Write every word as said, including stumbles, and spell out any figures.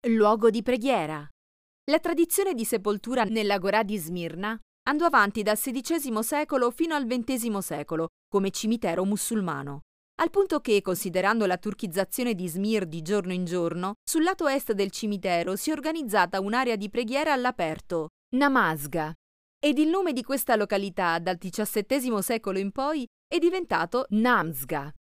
Luogo di preghiera. La tradizione di sepoltura nell'Agorà di Smirna andò avanti dal sedicesimo secolo fino al ventesimo secolo come cimitero musulmano, al punto che, considerando la turchizzazione di Izmir di giorno in giorno, sul lato est del cimitero si è organizzata un'area di preghiera all'aperto, Namazga, ed il nome di questa località dal diciassettesimo secolo in poi è diventato Namsga.